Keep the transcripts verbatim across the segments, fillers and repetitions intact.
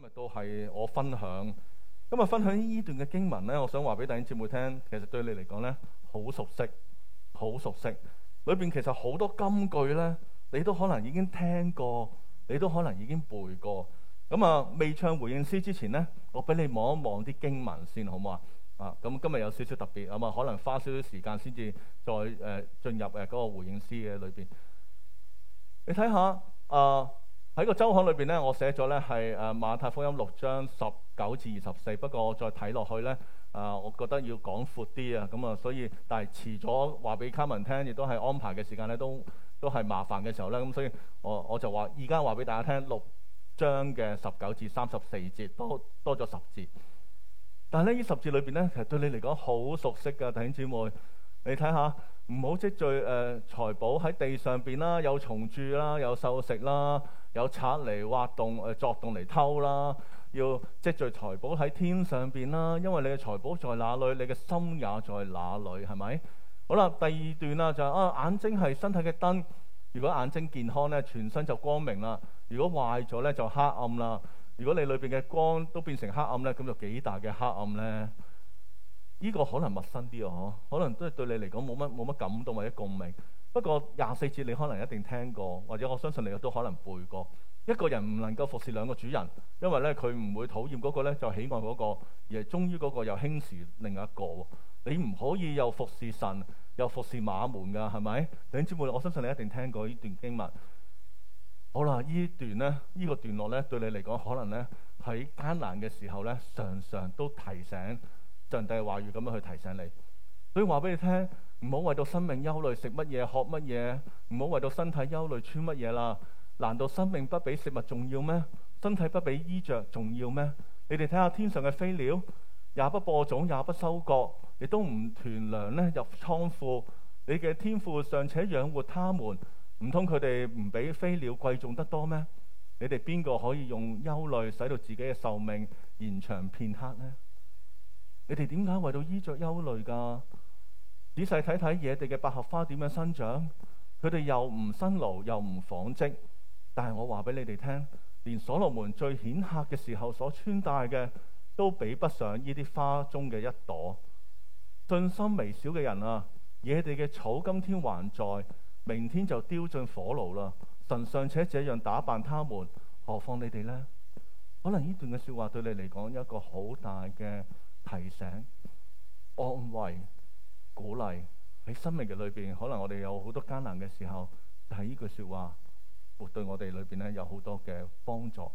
今日都係我分享，今日分享呢段嘅經文咧，我想話俾弟兄姊妹聽，其實對你嚟講咧，好熟悉，好熟悉。裏邊其實好多金句咧，你都可能已經聽過，你都可能已經背過。咁啊，未唱回應詩之前咧，我俾你望一望啲經文先，好唔好啊？啊，咁今日有少少特別，咁啊，可能花少少時間先至再誒、呃、進入誒嗰個回應詩嘅裏邊。你睇下啊。呃喺個週刊裏邊咧，我寫咗咧係誒馬太福音六章十九至二十四。不過我再睇落去咧，啊、呃，我覺得要講闊啲啊，咁啊，所以但係遲咗話俾卡文聽，亦都係安排嘅時間咧，都都係麻煩嘅時候咧，咁所以我我就話而家話俾大家聽六章嘅十九至三十四節，多多咗十節。但係咧呢十節裏邊咧，其實對你嚟講好熟悉㗎，弟兄姊妹，你睇下。唔好積聚誒、呃、財寶喺地上邊啦，有蟲蛀啦，有獸食啦，有賊嚟挖洞誒、呃、作洞嚟偷啦。要積聚財寶喺天上邊啦，因為你嘅財寶在哪裏，你嘅心也在哪裏，係咪？好啦，第二段啦就係、啊眼睛係身體嘅燈，如果眼睛健康咧，全身就光明啦；如果壞咗咧，就黑暗啦。如果你裏邊嘅光都變成黑暗咧，咁就幾大嘅黑暗咧？呢個可能陌生啲啊，可能都係對你嚟講冇乜冇乜感動或者共鳴。不過廿四節你可能一定聽過，或者我相信你都可能背過。一個人唔能夠服侍兩個主人，因為咧佢唔會討厭嗰個咧就喜愛嗰個，而係忠於嗰個又輕視另一個。你唔可以又服侍神又服侍馬門㗎，係咪？弟兄姊妹，我相信你一定聽過呢段經文。好啦，呢段咧，呢個段落咧，對你嚟講可能咧喺艱難嘅時候咧，常常都提醒。上帝嘅話語咁樣去提醒你，所以話俾你聽，唔好為到生命憂慮，食乜嘢，喝乜嘢，唔好為到身體憂慮，穿乜嘢啦。難道生命不比食物重要咩？身體不比衣着重要咩？你哋睇下天上嘅飛鳥，也不播種，也不收割，亦都唔囤糧咧入倉庫。你嘅天父尚且養活他們，唔通佢哋唔比飛鳥貴重得多咩？你哋邊個可以用憂慮使到自己嘅壽命延長片刻呢？你哋點解為到衣着憂慮㗎？仔細睇睇野地嘅百合花點樣生長，佢哋又唔辛勞又唔紡織。但係我話俾你哋聽，連所羅門最顯赫嘅時候所穿戴嘅，都比不上呢啲花中嘅一朵。信心微小嘅人啊，野地嘅草今天還在，明天就丟進火爐啦。神尚且這樣打扮他們，何況你哋呢？可能呢段嘅說話對你嚟講有一個好大嘅提醒、安慰、鼓勵。喺生命嘅裏邊，可能我哋有好多艱難嘅時候，就係呢句說話會對我哋裏邊咧有好多嘅幫助。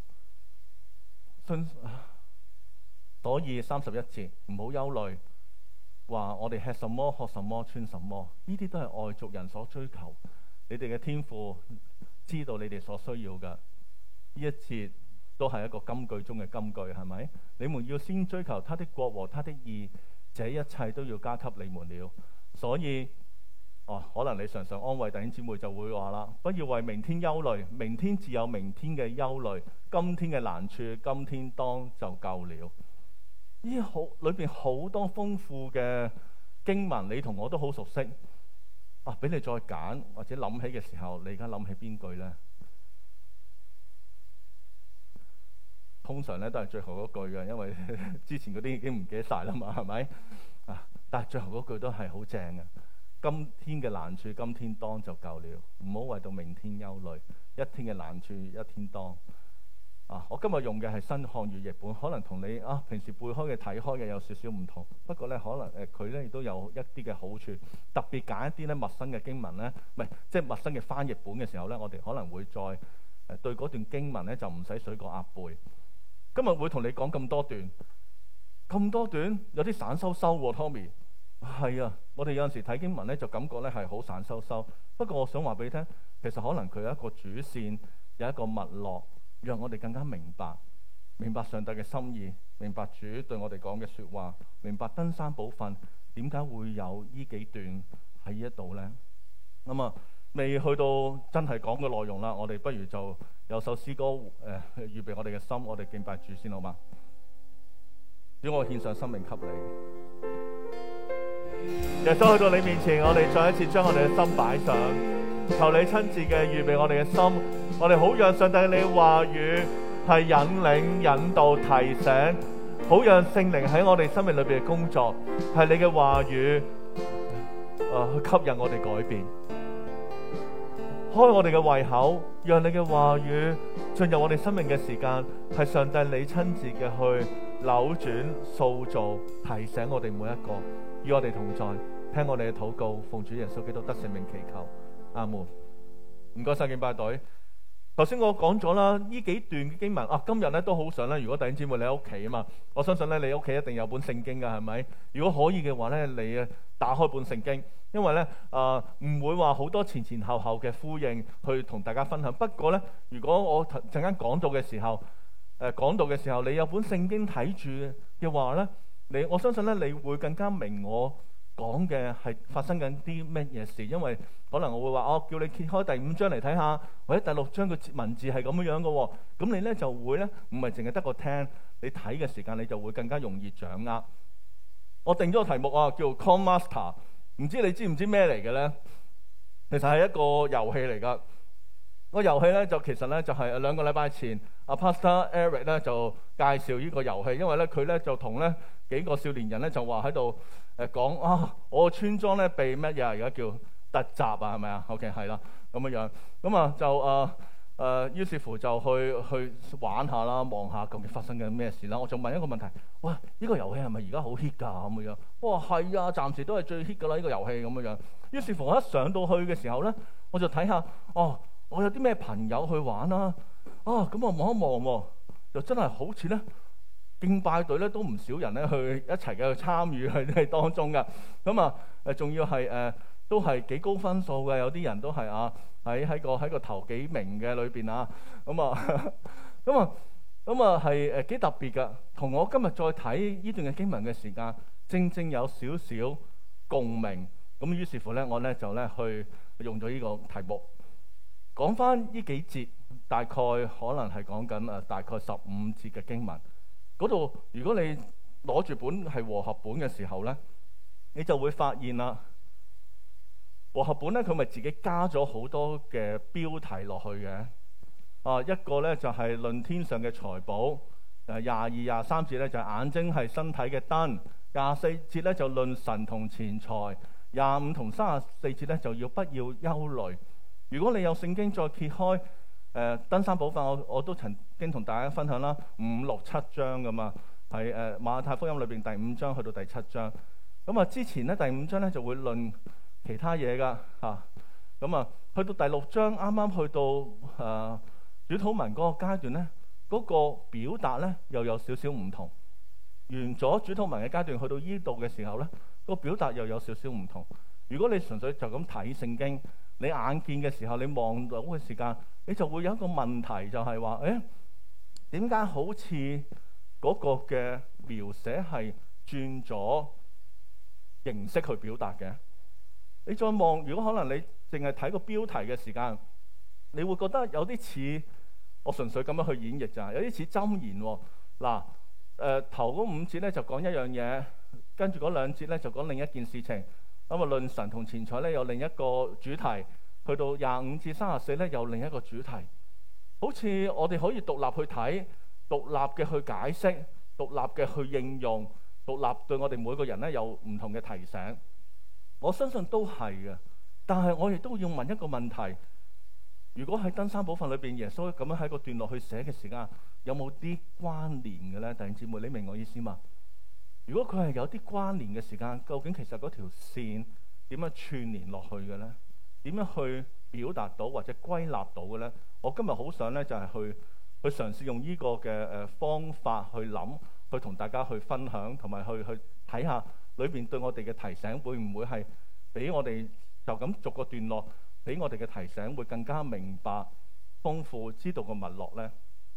所以三十一節唔好憂慮，話我哋吃什麼、喝什麼、穿什麼，呢啲都係外族人所追求。你哋嘅天父知道你哋所需要嘅。呢一節都係一個金句中嘅金句，係咪？你們要先追求他的國和他的義，這一切都要加給你們了。所以，哦，可能你常常安慰弟兄姊妹就會話啦，不要為明天憂慮，明天自有明天嘅憂慮，今天嘅難處，今天當就夠了。呢好裏邊好多豐富嘅經文，你同我都好熟悉。啊，俾你再揀或者諗起嘅時候，你而家諗起邊句呢？通常咧都係最後嗰句嘅，因為之前嗰啲已經唔記得晒啦嘛，係咪啊？但係最後嗰句都係好正嘅。今天嘅難處，今天當就夠了，唔好為到明天憂慮。一天嘅難處，一天當。啊，我今日用嘅係新漢語譯本，可能同你啊平時背開嘅睇開嘅有少少唔同。不過咧，可能誒佢咧亦都有一啲嘅好處。特別揀一啲咧陌生嘅經文咧，唔係即係陌生嘅翻譯本嘅時候咧，我哋可能會再誒、呃、對嗰段經文咧就唔使水過鴨背。今日會同你講咁多段，咁多段有啲散收收喎 ，Tommy。係啊，我哋有陣時睇經文咧，就感覺咧係好散收收。不過我想話俾你聽，其實可能佢有一個主線，有一個脈絡，讓我哋更加明白，明白上帝嘅心意，明白主對我哋講嘅說話，明白登山寶訓點解會有呢幾段喺呢一度咧。咁啊，未去到真係講嘅內容啦，我哋不如就有首詩歌誒、呃，預備我哋嘅心，我哋敬拜主先好嗎？主，我獻上生命給你。耶穌去到你面前，我哋再一次將我哋嘅心擺上，求你親自嘅預備我哋嘅心，我哋好讓上帝你話語係引領、引導、提醒，好讓聖靈喺我哋生命裏邊嘅工作，係你嘅話語，誒、呃、去吸引我哋改變，開我哋嘅胃口，讓你嘅話語進入我哋生命嘅時間，係上帝你親自嘅去扭轉、塑造、提醒我哋每一個，與我哋同在，聽我哋嘅禱告，奉主耶穌基督得聖名祈求，阿門。唔該晒敬拜隊。頭先我講咗啦，呢幾段嘅經文啊，今日咧都好想咧。如果弟兄姊妹你喺屋企啊嘛，我相信咧你屋企一定有本聖經噶，係咪？如果可以嘅話咧，你啊打開本聖經，因為咧啊唔會話好多前前後後嘅呼應去同大家分享。不過咧，如果我陣間講到嘅時候，誒、呃、講到嘅時候，你有本聖經睇住嘅話咧，你我相信咧你會更加明我講嘅係發生緊啲乜嘢事，因為可能我會話哦，叫你揭開第五章嚟睇下，或者第六章嘅文字係咁樣樣嘅喎，咁你咧就會咧唔係淨係得個聽，你睇嘅時間你就會更加容易掌握。我定咗個題目啊，叫 Con Master， 唔知你知唔知咩嚟嘅咧？其實係一個遊戲嚟㗎。個遊戲咧就其實咧就係兩個禮拜前，阿 Pastor Eric 咧就介紹呢個遊戲，因為咧佢咧就同咧幾個少年人咧就話喺度誒講啊，我個村莊咧被乜嘢啊？而家叫突襲啊，係咪啊 ？OK 係啦，咁樣樣咁啊就誒誒、呃呃，於是乎就去去玩下啦，望下究竟發生緊咩事啦。我就問一個問題：哇，呢、這個遊戲係咪而家好 hit 㗎？咁樣，哇係啊，暫時都係最 hit 㗎啦，呢、這個遊戲咁樣樣。於是乎我一上到去嘅時候咧，我就睇下哦。我有啲咩朋友去玩啦？啊，咁我望一望喎，就真係好似咧敬拜隊咧都唔少人咧去一齊嘅去參與喺當中㗎。咁啊誒，仲要係誒、呃、都係幾高分數嘅，有啲人都係啊喺喺個喺個頭幾名嘅裏邊啊。咁啊咁啊咁啊係誒幾特別㗎。同我今日再睇呢段嘅經文嘅時間，正正有少少共鳴。咁於是乎咧，我咧就咧去用咗呢個題目。講翻呢幾節，大概可能係講緊誒大概十五節嘅經文嗰度。如果你攞住本係和合本嘅時候咧，你就會發現啦。和合本咧佢咪自己加咗好多嘅標題落去嘅。啊，一個咧就係、是、論天上嘅財寶，誒廿二廿三節咧就係、是、眼睛係身體嘅燈，廿四節咧就論神同錢財，廿五同三十四節咧就要不要憂慮。如果你有聖經再揭開誒、呃、登山寶訓，我我都曾經同大家分享啦，五六七章噶嘛，係誒、呃、馬太福音裏邊第五章去到第七章。咁啊之前咧第五章咧就會論其他嘢噶嚇，咁啊去到第六章啱啱去到誒、呃、主禱文嗰個階段咧，嗰、那個表達咧又有少少唔同。完咗主禱文嘅階段，去到呢度嘅時候咧，那個表達又有少少唔同。如果你純粹就咁睇聖經，你眼見嘅時候，你望到嘅時間，你就會有一個問題，就係話：誒點解好似嗰個嘅描寫係轉咗形式去表達嘅？你再望，如果可能你淨係睇個標題嘅時間，你會覺得有啲似我純粹咁樣去演繹咋，有啲似箴言喎。嗱，誒頭嗰五節咧就講一樣嘢，跟住嗰兩節咧就講另一件事情。咁啊，論神同錢財咧有另一個主題，去到廿五至三十四咧有另一個主題，好似我哋可以獨立去睇，獨立嘅去解釋，獨立嘅去應用，獨立對我哋每個人咧有唔同嘅提醒。我相信都係嘅，但係我亦都要問一個問題：如果喺登山寶訓裏邊，耶穌咁樣喺個段落去寫嘅時間，有冇啲關聯嘅咧？弟兄姊妹，你明我意思嘛？如果佢係有啲關聯嘅時間，究竟其實嗰條線點樣串連落去嘅咧？點樣去表達到或者歸納到嘅咧？我今日好想咧就係、是、去去嘗試用呢個嘅誒方法去諗，去同大家去分享，同埋去去睇下裏邊對我哋嘅提醒會唔會係俾我哋就咁逐個段落俾我哋嘅提醒會更加明白、豐富，知道個脈絡咧？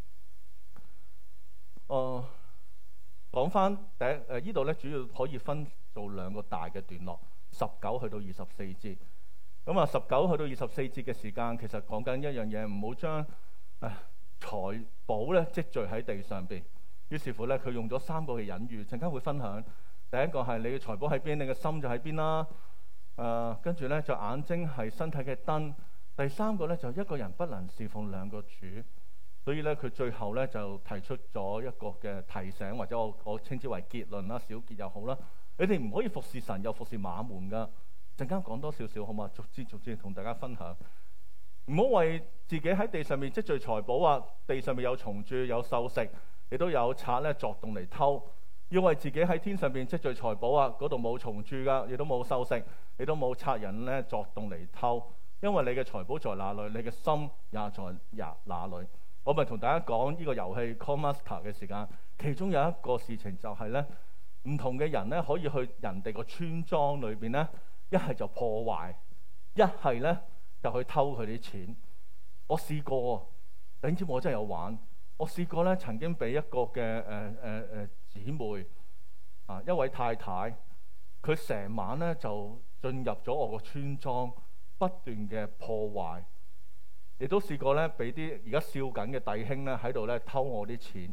誒、呃。講翻第一誒，呢度咧主要可以分做兩個大嘅段落，十九去到二十四節。咁啊，十九去到二十四節嘅時間，其實講緊一樣嘢，唔好將誒財寶咧積聚喺地上邊。於是乎咧，佢用咗三個嘅隱喻，陣間會分享。第一個係你嘅財寶喺邊，你嘅心就喺邊啦。誒、呃，跟住咧就眼睛係身體嘅燈。第三個咧就一個人不能侍奉兩個主。 所以咧佢最後咧就提出咗一個嘅提醒，或者我我稱之為結論啦，小結又好啦。你哋唔可以服侍神又服侍馬門噶。陣間講多少少好嘛？逐支逐支同大家分享。唔好為自己喺地上面積聚財寶啊！地上面有蟲蛀、有獸食，亦都有賊咧作動嚟偷。要為自己喺天上邊積聚財寶啊！嗰度冇蟲蛀噶，亦都冇獸食，亦都冇賊人咧作動嚟偷。因為你嘅財寶在哪裏，你嘅心也在也哪裏。我咪同大家講呢個遊戲 Call Master 嘅時間，其中有一個事情就係咧，唔同嘅人咧可以去人哋個村莊裏邊咧，一係就破壞，一係咧就去偷佢啲錢。我試過，你知我真係有玩。我試過咧，曾經俾一個嘅誒誒誒姊妹啊，一位太太，佢成晚咧就進入咗我個村莊，不斷嘅破壞。亦都試過咧，俾啲而家笑緊嘅弟兄咧喺度咧偷我啲錢。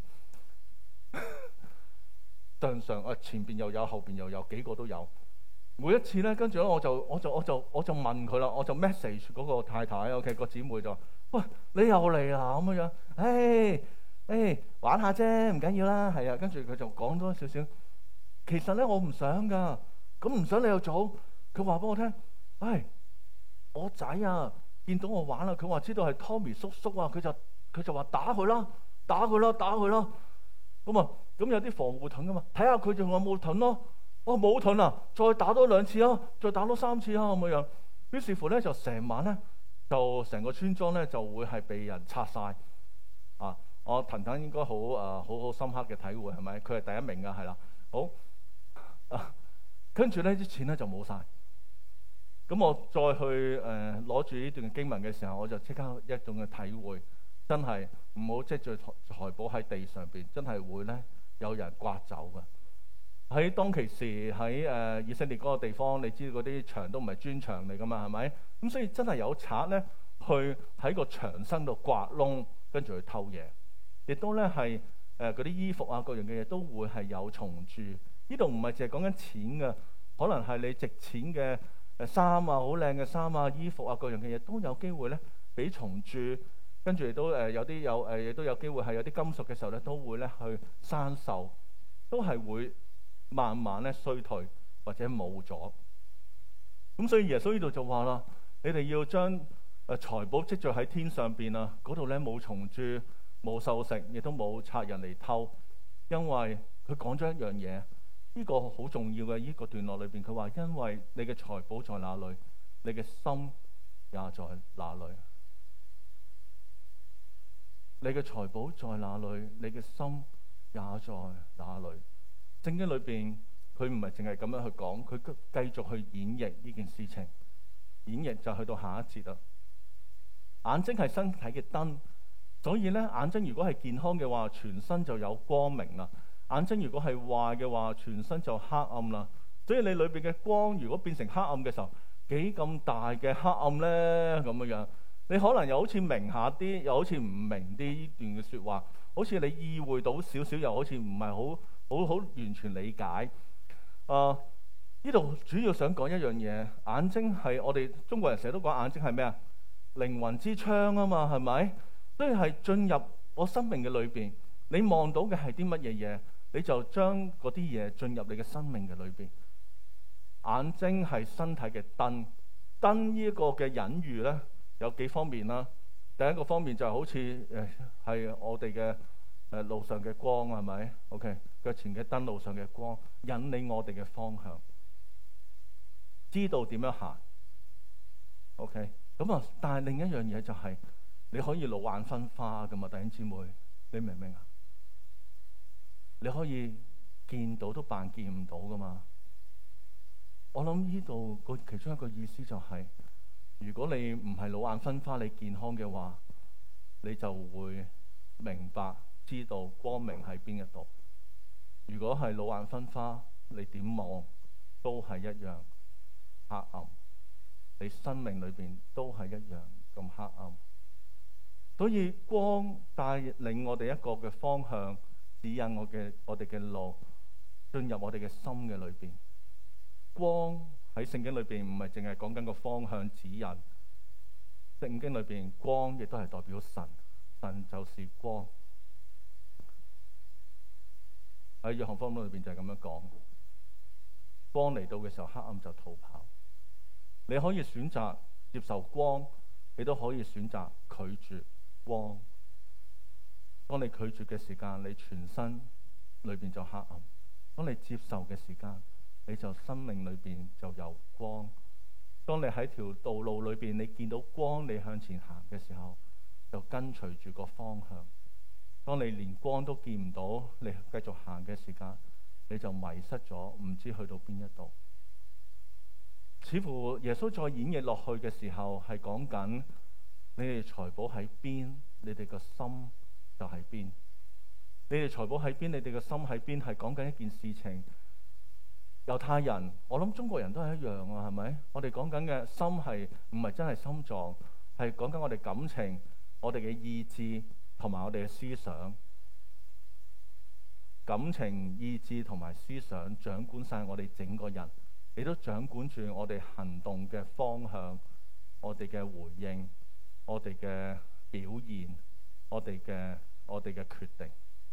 上上啊，前邊又有，後邊又有，幾個都有。每一次咧，跟住咧我就我就我就我就問佢啦，我就 message 嗰個太太 ，OK 個姊妹就，喂，你又嚟啦咁樣，誒誒玩下啫，唔緊要啦，係啊。跟住佢就講多少少，其實咧我唔想噶，咁唔想你又做。佢話俾我聽，唉，我仔啊見到我玩啦，佢話知道係 Tommy 叔叔啊，佢就佢就話打佢啦，打佢啦，打佢啦。咁啊，咁有啲防護盾噶嘛，睇下佢仲有冇盾咯。哦，冇盾啊，再打多兩次啊，再打多三次啊，咁樣。於是乎咧，就成晚咧，就成個村莊咧就會係被人拆晒。啊，我騰騰應該好誒，好好深刻嘅體會係咪？佢係第一名噶，係啦。好啊，跟住咧啲錢咧就冇晒。咁我再去誒攞住呢段經文嘅時候，我就即刻一種嘅體會，真係唔好積聚財寶喺地上邊，真係會咧有人刮走噶。喺當其時喺誒、呃、以色列嗰個地方，你知道嗰啲牆都唔係磚牆嚟噶嘛，係咪？咁所以真係有賊咧去喺個牆身度刮窿，跟住去偷嘢。亦都咧係誒嗰啲衣服啊，各樣嘅嘢都會係有蟲蛀。呢度唔係淨係講緊錢嘅，可能係你值錢嘅誒衫啊，好靚嘅衫啊、衣服啊，各樣嘅嘢都有機會咧俾蟲蛀。跟住亦都誒有啲有誒亦都有機會係有啲金屬嘅時候咧，都會咧去生鏽，都係會慢慢咧衰退或者冇咗。咁所以耶穌呢度就話啦，你哋要將誒財寶積聚喺天上邊啊，嗰度咧冇蟲蛀、冇獸食，亦都冇賊人嚟偷。因為佢講咗一樣嘢，呢個好重要嘅呢個段落裏邊，佢話因為你嘅財寶在哪裏，你嘅心也在哪裏。你嘅財寶在哪裏，你嘅心也在哪裏。聖經裏邊佢唔係淨係咁樣去講，佢繼續去演繹呢件事情。演繹就去到下一節啦。眼睛係身體嘅燈，所以咧眼睛如果係健康嘅話，全身就有光明啦；眼睛如果係壞嘅話，全身就黑暗啦。所以你裏邊嘅光如果變成黑暗嘅時候，幾咁大嘅黑暗咧？咁樣樣，你可能又好似明下啲，又好似唔明啲呢段嘅說話，好似你意會到少少，又好似唔係好。好好完全理解。啊、呃，呢度主要想講一樣嘢，眼睛係我哋中國人成日都講眼睛係咩啊？靈魂之窗啊嘛，係咪？所以係進入我生命嘅裏邊，你望到嘅係啲乜嘢嘢，你就將嗰啲嘢進入你嘅生命嘅裏邊。眼睛係身體嘅燈，燈呢一個嘅隱喻咧有幾方面啦。第一個方面就係好似誒係我哋嘅誒路上嘅光，係咪 ？OK。腳前嘅燈，路上嘅光，引領我哋嘅方向，知道點樣行。OK，咁啊，但係另一樣嘢就係、是、你可以老眼昏花噶嘛，弟兄姊妹，你明唔明啊？你可以見到都扮見唔到噶嘛。我諗呢度個其中一個意思就係、是，如果你唔係老眼昏花，你健康嘅話，你就會明白知道光明喺邊一度。如果係老眼昏花，你點望都係一樣黑暗，你生命裏邊都係一樣咁黑暗。所以光帶領我哋一個嘅方向，指引我嘅我哋嘅路，進入我哋嘅心嘅裏邊。光喺聖經裏邊唔係淨係講緊個方向指引，聖經裏邊光亦都係代表神， 神就是光。喺約翰福音裏邊就係咁樣講，光嚟到嘅時候，黑暗就逃跑。你可以選擇接受光，你都可以選擇拒絕光。當你拒絕嘅時間，你全身裏邊就黑暗；當你接受嘅時間，你就生命裏邊就有光。當你喺條道路裏邊，你見到光，你向前行嘅時候，就跟隨住個方向。當你連光都見唔到，你繼續行嘅時間，你就迷失咗，唔知去到邊一度。似乎耶穌再演繹落去嘅時候，係講緊你哋財寶喺邊，你哋個心就喺邊。你哋財寶喺邊，你哋個心喺邊，係講緊一件事情。猶太人，我諗中國人都係一樣啊，係咪？我哋講緊嘅心係唔係真係心臟，係講緊我哋感情、我哋嘅意志同埋我哋嘅思想。感情、意志同埋思想掌管晒我哋整個人，亦都掌管住我哋行動嘅方向、我哋嘅回應、我哋嘅表現、我哋嘅我哋嘅決定。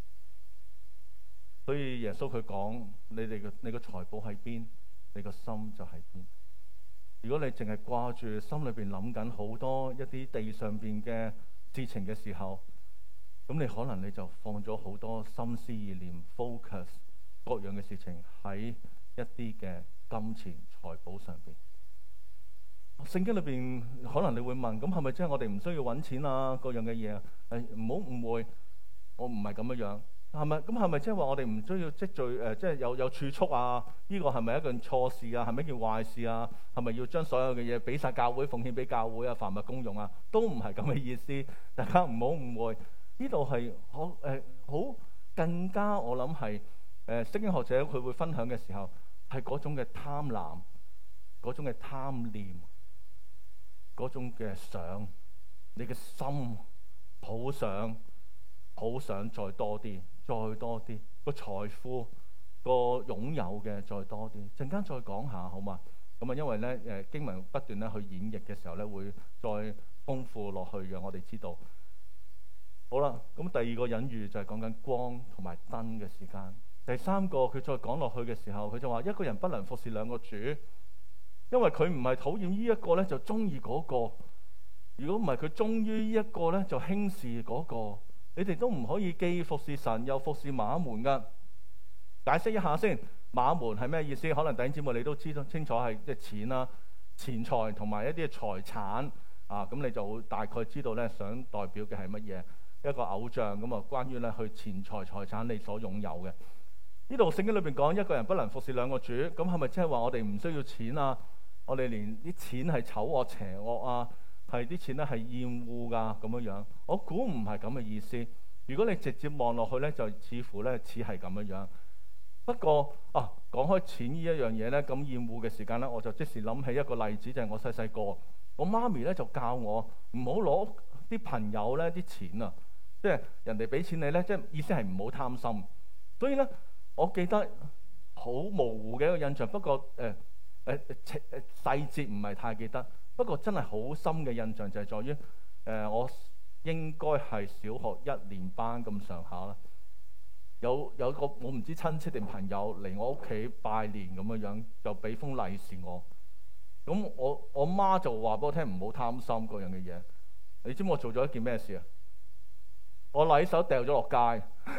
所以耶穌佢講：你哋嘅你個財寶喺邊，你個心就喺邊。如果你淨係掛住心裏邊諗緊好多一啲地上邊嘅事情嘅時候，咁你可能你就放咗好多心思意念 focus 各樣嘅事情喺一啲嘅金錢財寶上邊。聖經裏邊可能你會問：咁係咪即係我哋唔需要揾錢啊？各樣嘅嘢啊？誒，唔好誤會，我唔係咁樣樣。係咪？咁係咪即係話我哋唔需要積聚誒、呃，即係有有儲蓄啊？呢、這個係咪一件錯事啊？係咪一件壞事啊？係咪要將所有嘅嘢俾晒教會，奉獻俾教會啊？凡物公用啊？都唔係咁嘅意思。大家唔好誤會。呢度係好誒，好更加我諗係誒，聖經學者佢會分享嘅時候，係嗰種嘅貪婪，嗰種嘅貪念，嗰種嘅想，你嘅心好想，好想再多啲。再多啲個財富個擁有嘅再多啲，陣間再講下好嘛？咁啊，因為咧誒經文不斷咧去演繹嘅時候咧，會再豐富落去嘅。我哋知道好啦。咁第二個隱喻就係講緊光同埋燈嘅時間。第三個佢再講落去嘅時候，佢就話一個人不能服侍兩個主，因為佢唔係討厭呢一個咧就中意嗰個，如果唔係佢忠於呢一個咧就輕視嗰個。你哋都唔可以既服侍神又服侍馬門噶。解釋一下先，馬門係咩意思？可能弟兄姊妹你都知道清楚，係即係錢啦、錢財同埋一啲嘅財產啊。咁你就會大概知道咧，想代表嘅係乜嘢？一個偶像咁啊，關於咧去錢財財產你所擁有嘅。呢度聖經裏邊講一個人不能服侍兩個主，咁係咪即係話我哋唔需要錢啊？我哋連啲錢係醜惡邪惡啊？係啲錢咧係厭惡噶咁樣樣，我估唔係咁嘅意思。如果你直接望落去咧，就似乎咧似係咁樣樣。不過啊，講開錢呢一樣嘢咧，咁厭惡嘅時間咧，我就即時諗起一個例子，就係、是、我細細個，我媽咪咧就教我唔好攞啲朋友咧啲錢啊，即係人哋俾錢你咧，即係意思係唔好貪心。所以咧，我記得好模糊嘅一個印象，不過誒誒誒細節唔係太記得。不過真係好深嘅印象就係在於，誒、呃、我應該係小學一年班咁上下啦。有有個我唔知親戚定朋友嚟我屋企拜年咁樣樣，就俾封利是我。咁我我媽就話俾我聽唔好貪心嗰樣嘅嘢。你知唔知我做咗一件咩事啊？我禮手掉咗落街，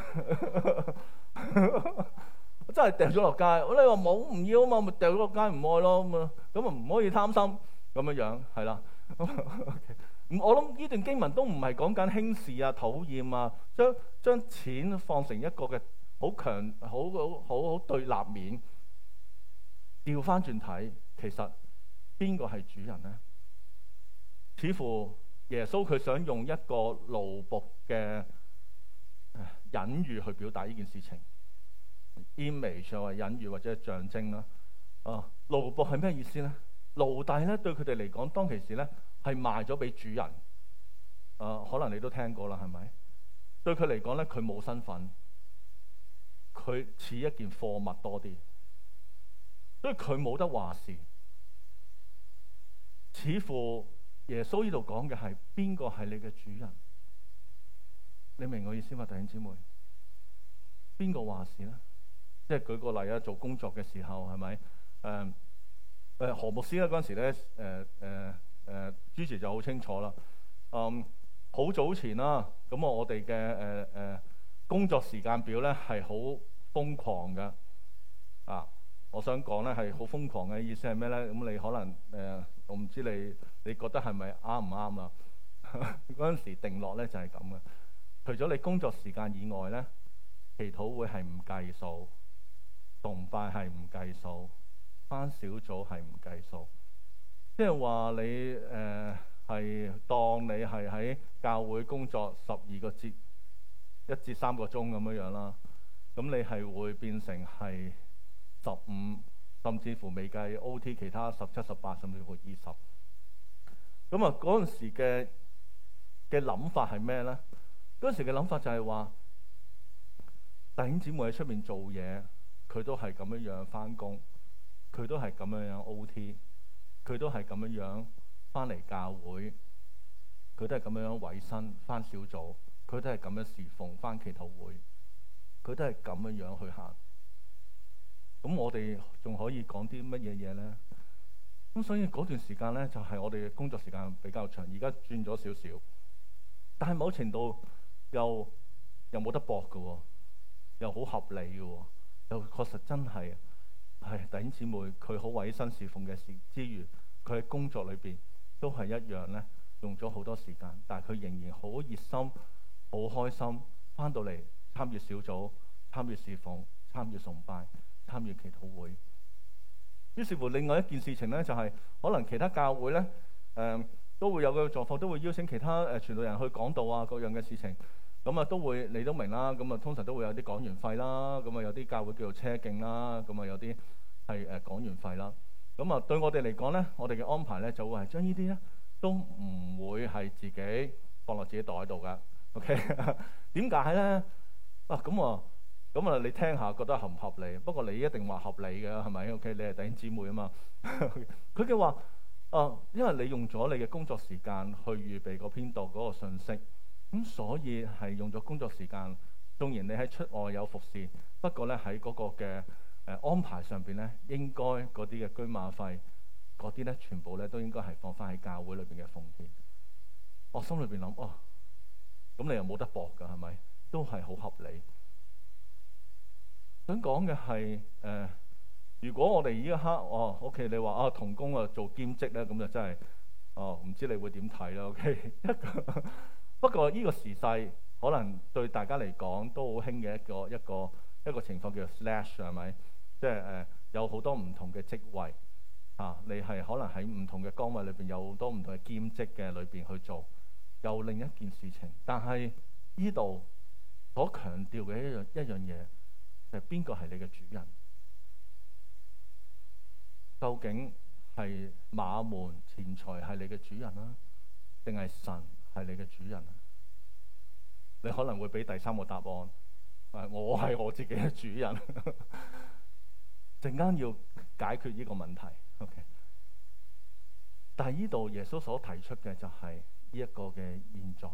我真係掉咗落街。我你話冇唔要啊嘛，咪掉咗落街唔愛咯咁啊，咁啊唔可以貪心。咁樣樣係啦，我諗呢段經文都唔係講緊輕視啊、討厭啊，將將錢放成一個嘅好強、好好好好對立面。調翻轉睇，其實邊個係主人呢？似乎耶穌佢想用一個奴僕嘅隱喻去表達呢件事情 ，image 或隱喻或者象徵啦。啊，奴僕係咩意思呢？奴隸咧對佢哋嚟講，當其時咧係賣咗俾主人。誒、呃，可能你都聽過啦，係咪？對佢嚟講咧，佢冇身份，佢似一件貨物多啲，所以佢冇得話事。似乎耶穌呢度講嘅係邊個係你嘅主人？ 你明我意思嘛，弟兄姊妹？邊個話事咧？即係舉個例啊，做工作嘅時候係咪？誒誒何牧師咧嗰陣時咧，誒誒誒主持就好清楚啦。嗯，好早前啦，咁我我哋嘅誒誒工作時間表咧係好瘋狂嘅啊！我想講咧係好瘋狂嘅意思係咩咧？咁你可能誒、呃，我唔知你你覺得係咪啱唔啱啦？嗰陣時定落咧就係咁嘅。除咗你工作時間以外咧，祈禱會係唔計數，崇拜係唔計數，返小組係唔計數。即係話你誒係、呃、當你係喺教會工作十二個節一至三個鐘咁樣樣啦，咁你係會變成係十五，甚至乎未計 O T 其他十七、十八，甚至乎二十。咁啊嗰陣時嘅嘅諗法係咩咧？嗰陣時嘅諗法就係話，弟兄姊妹喺出面做嘢，佢都係咁樣樣返工，佢都係咁樣樣 O T， 佢都係咁樣樣返嚟教會，佢都係咁樣樣委身返小組，佢都係咁樣侍奉返祈禱會，佢都係咁樣樣去行。咁我哋仲可以講啲乜嘢嘢咧？咁所以嗰段時間咧，就係、是、我哋嘅工作時間比較長，而家轉咗少少，但係某程度又又冇得駁嘅喎，又好合理嘅喎，又確實真係係弟兄姊妹佢好委身侍奉嘅事之餘，佢喺工作裏邊都係一樣咧，用咗好多時間，但係佢仍然好熱心、好開心，翻到嚟參與小組、參與侍奉、參與崇拜、參與祈禱會。於是乎，另外一件事情咧，就係、是、可能其他教會咧，誒、呃、都會有個狀況，都會邀請其他誒傳道人去講道啊，各樣嘅事情。咁啊，都會你都明啦。咁啊，通常都會有啲講員費啦。咁啊，有啲教會叫做車徑啦。咁啊，有啲係誒講員費啦。咁啊，對我哋嚟講咧，我哋嘅安排咧就會係將呢啲咧都唔會係自己放落自己袋度噶。OK，點解咧？啊，咁啊。咁啊，你聽下覺得合唔合理？不過你一定話合理嘅，係咪 ？OK，你係弟兄姊妹啊嘛。佢嘅話，啊，因為你用咗你嘅工作時間去預備嗰篇道嗰個信息，咁所以係用咗工作時間。縱然你喺出外有服侍，不過咧喺嗰個嘅誒安排上邊咧，應該嗰啲嘅居馬費嗰啲咧，全部咧都應該係放翻喺教會裏邊嘅奉獻。我心裏邊諗，哦，咁你又冇得駁㗎，係咪？都係好合理。想講嘅係誒，如果我哋依一刻哦 ，OK， 你話啊同工啊做兼職咧，咁就真係哦，唔知你會點睇啦 ？OK， 一個不過呢個時勢可能對大家嚟講都好興嘅一個一個一個情況叫做 slash 係咪？即係誒有好多唔同嘅職位啊，你係可能喺唔同嘅崗位裏邊有好多唔同嘅兼職嘅裏邊去做，又另一件事情。但係呢度所強調嘅一樣一樣嘢。係邊個係你嘅主人？究竟係馬門錢財係你嘅主人啊，定係神係你嘅主人啊？你可能會俾第三個答案，誒，我係我自己嘅主人。陣間要解決呢個問題。OK， 但係呢度耶穌所提出嘅就係呢一個嘅現狀，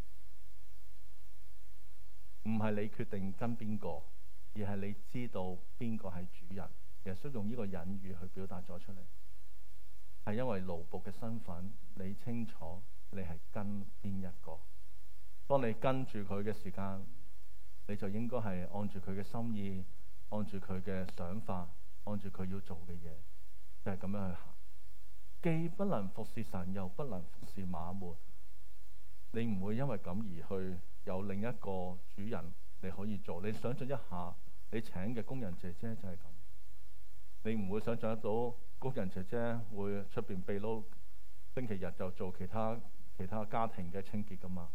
唔係你決定跟邊個。而係你知道邊個係主人，耶穌用呢個隱喻去表達咗出嚟，係因為奴僕嘅身份，你清楚你係跟邊一個。當你跟住佢嘅時間，你就應該係按住佢嘅心意，按住佢嘅想法，按住佢要做嘅嘢，就係咁樣去行。既不能服侍神，又不能服侍馬門，你唔會因為咁而去有另一個主人。你可以做，你想象一下，你請嘅工人姐姐就係咁，你唔會想象得到工人姐姐會出邊秘撈，星期日就做其他其他家庭嘅清潔噶嘛？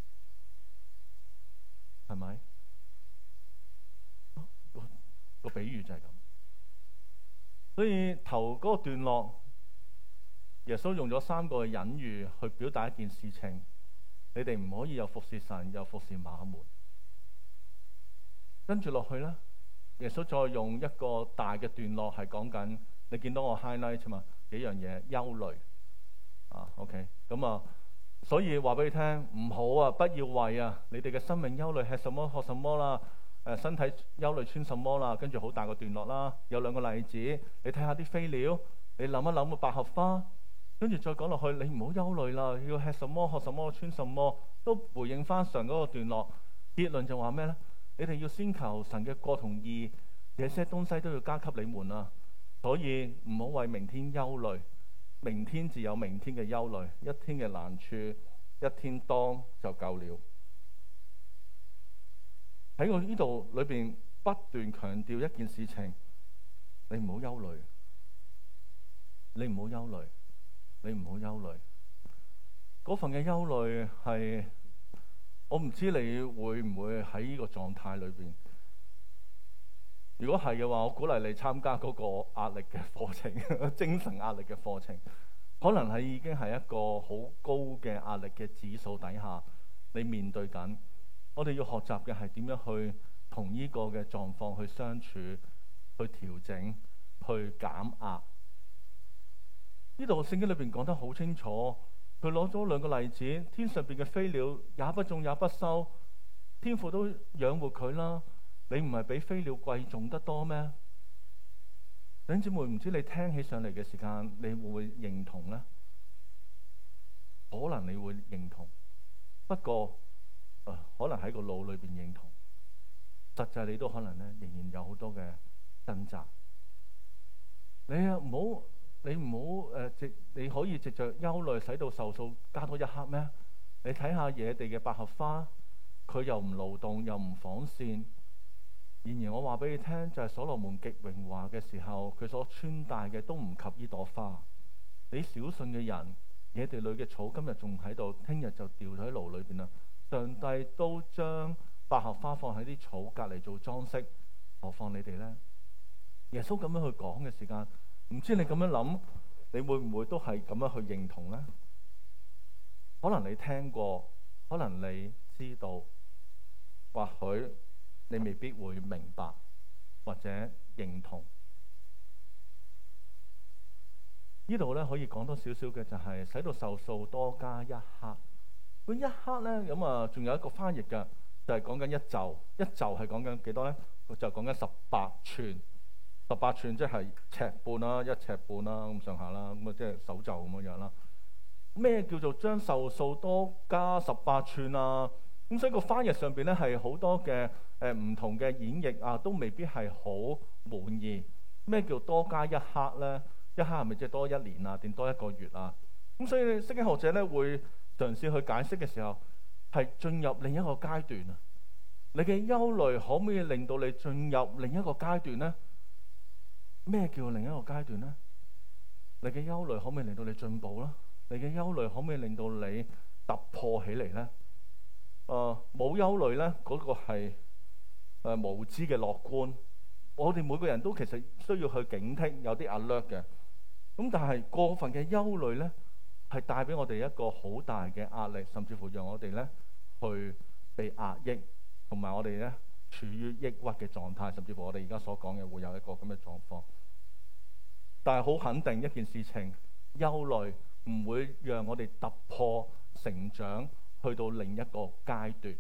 係咪？個個比喻就係咁。所以頭嗰個段落，耶穌用咗三個隱喻去表達一件事情：你哋唔可以又服侍神，又服侍馬門。跟住落去咧，耶穌再用一個大嘅段落係講緊，你見到我 highlight 嘛幾樣嘢，憂慮啊 ，OK，咁啊所以話俾你聽，唔好啊，不要為啊你哋嘅生命憂慮，吃什麼喝什麼啦，誒身體憂慮穿什麼啦，跟住好大個段落啦。有兩個例子，你睇下啲飛鳥，你諗一諗個百合花，跟住再講落去，你唔好憂慮啦，要吃什麼喝什麼穿什麼，都回應翻上嗰個段落。結論就話咩呢？你哋要先求神嘅國同義，這些東西都要加給你們啊。所以唔好為明天憂慮。明天自有明天嘅憂慮，一天嘅難處，一天當就夠了。喺我呢度裏邊不斷強調一件事情，你唔好憂慮，你唔好憂慮，你唔好憂慮。嗰份嘅憂慮係，我唔知你會唔會喺呢個狀態裏邊。如果係嘅話，我鼓勵你參加嗰個壓力嘅課程，精神壓力嘅課程，可能係已經係一個好高嘅壓力嘅指數底下，你面對緊。我哋要學習嘅係點樣去同呢個嘅狀況去相處、去調整、去減壓。呢度聖經裏邊講得好清楚，佢攞咗兩個例子：天上邊嘅飛鳥也不種也不收，天父都養活佢啦。你唔係比飛鳥貴重得多咩？弟兄姊妹，唔知你聽起上嚟嘅時間，你會唔會認同呢？可能你會認同，不過、呃、可能喺個腦裏邊認同，實際你都可能咧仍然有好多嘅掙扎。你啊唔好，你唔好誒，直你可以藉着憂慮使到壽數加多一刻咩？你睇下野地嘅百合花，佢又唔勞動又唔紡線。然而我話俾你聽，就係、是、所羅門極榮華嘅時候，佢所穿戴嘅都唔及呢朵花。你小信嘅人，野地裏嘅草今日仲喺度，聽日就掉咗喺爐裏邊啦。上帝都將百合花放喺啲草隔籬做裝飾，何況你哋呢？耶穌咁樣去講嘅時間，唔知你咁樣諗，你會唔會都係咁樣去認同呢？可能你聽過，可能你知道，或許你未必會明白或者認同。呢度咧可以講多少少嘅就係使到壽數多加一克。咁一克咧咁啊，仲有一個翻譯嘅，就係講緊一袖。一袖係講緊幾多咧？就講緊十八寸。十八寸即係尺半啦，一尺半啦咁上下啦，咁啊即係手袖咁樣樣啦。咩叫做將壽數多加十八寸啊？咁所以個翻譯上邊咧係好多嘅誒唔同嘅演繹啊，都未必係好滿意。咩叫多加一克咧？一克係咪即係多一年啊？定多一個月啊？咁所以聖經學者咧會嘗試去解釋嘅時候，係進入另一個階段啊！你嘅憂慮可唔可以令到你進入另一個階段咧？咩叫另一個階段咧？你嘅憂慮可唔可以令到你進步啦？你嘅憂慮可唔可以令到你突破起嚟咧？誒、呃，冇憂慮咧，嗰、那個係誒、呃、無知嘅樂觀。我哋每個人都其實需要去警惕，有啲 alert 嘅。咁但係過分嘅憂慮咧，係帶俾我哋一個好大嘅壓力，甚至乎讓我哋咧去被壓抑，同埋我哋咧處於抑鬱嘅狀態，甚至乎我哋而家所講嘅會有一個咁嘅狀況。但係好肯定一件事情，憂慮唔會讓我哋突破成長，去到另一個階段，